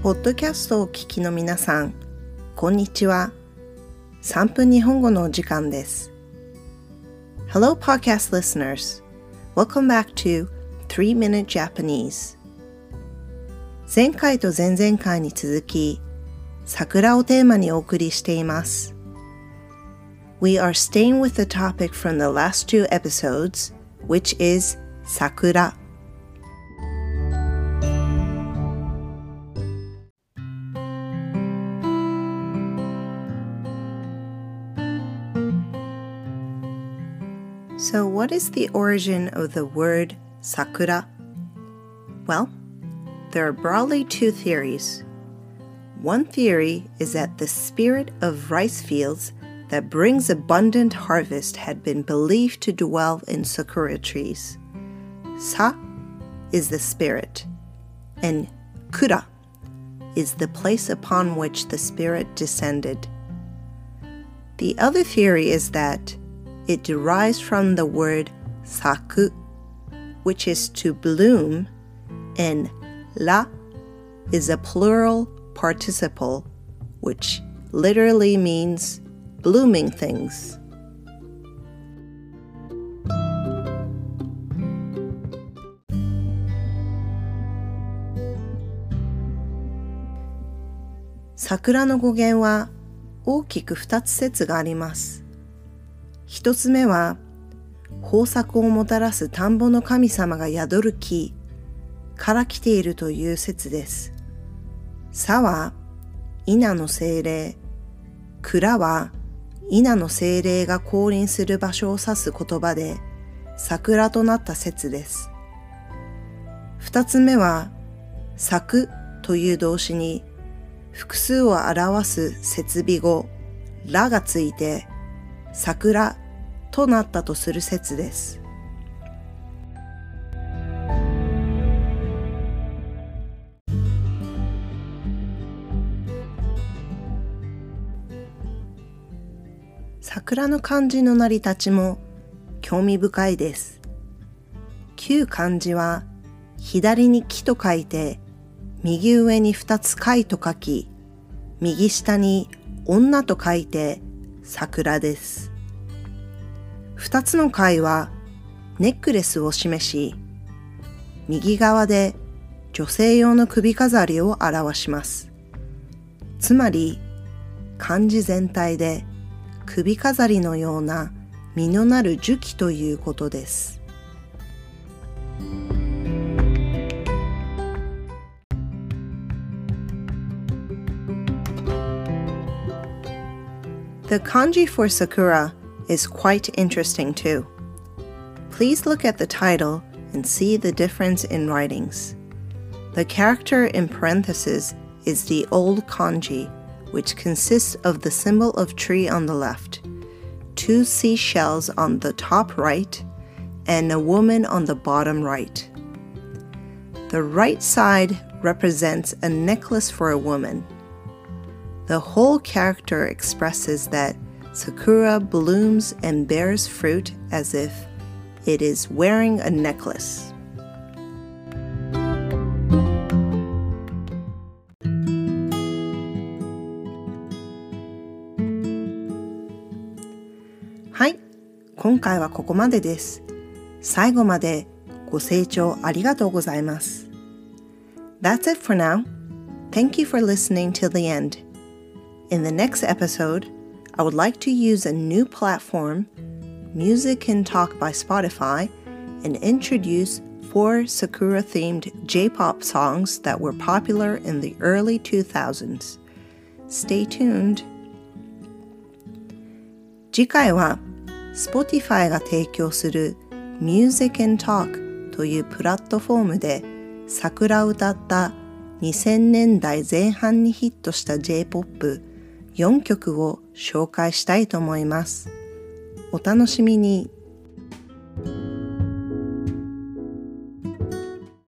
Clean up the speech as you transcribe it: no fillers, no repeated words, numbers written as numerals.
ポッドキャストをお聞きの皆さん、こんにちは。3分日本語のお時間です。Hello podcast listeners. Welcome back to 3-Minute Japanese. 前回と前々回に続き、桜をテーマにお送りしています。We are staying with the topic from the last 2 episodes, which is 桜。So what is the origin of the word sakura? Well, there are broadly 2 theories. One theory is that the spirit of rice fields that brings abundant harvest had been believed to dwell in sakura trees. Sa is the spirit, and kura is the place upon which the spirit descended. The other theory is that it derives from the word saku, which is to bloom, and ra is a plural participle, which literally means blooming things. Sakura の語源は大きく2つ説があります。一つ目は、豊作をもたらす田んぼの神様が宿る木から来ているという説です。さは、稲の精霊、蔵は、稲の精霊が降臨する場所を指す言葉で、桜となった説です。二つ目は、咲くという動詞に、複数を表す接尾語、らがついて、桜となったとする説です。桜の漢字の成り立ちも興味深いです。旧漢字は左に木と書いて、右上に2つ貝と書き、右下に女と書いて桜です。2つの貝はネックレスを示し、右側で女性用の首飾りを表します。つまり漢字全体で首飾りのような実のなる樹木ということです。The kanji for sakura is quite interesting too. Please look at the title and see the difference in writings. The character in parentheses is the old kanji, which consists of the symbol of tree on the left, 2 seashells on the top right, and a woman on the bottom right. The right side represents a necklace for a woman. The whole character expresses that sakura blooms and bears fruit as if it is wearing a necklace. Hi, 今回はここまでです。最後までご清聴ありがとうございます。That's it for now. Thank you for listening till the end. In the next episode, I would like to use a new platform, Music and Talk by Spotify, and introduce 4 Sakura-themed J-pop songs that were popular in the early 2000s. Stay tuned. 次回は Spotify が提供する Music and Talk というプラットフォームで桜を歌った2000年代前半にヒットした J-pop 4曲を紹介したいと思います。お楽しみに。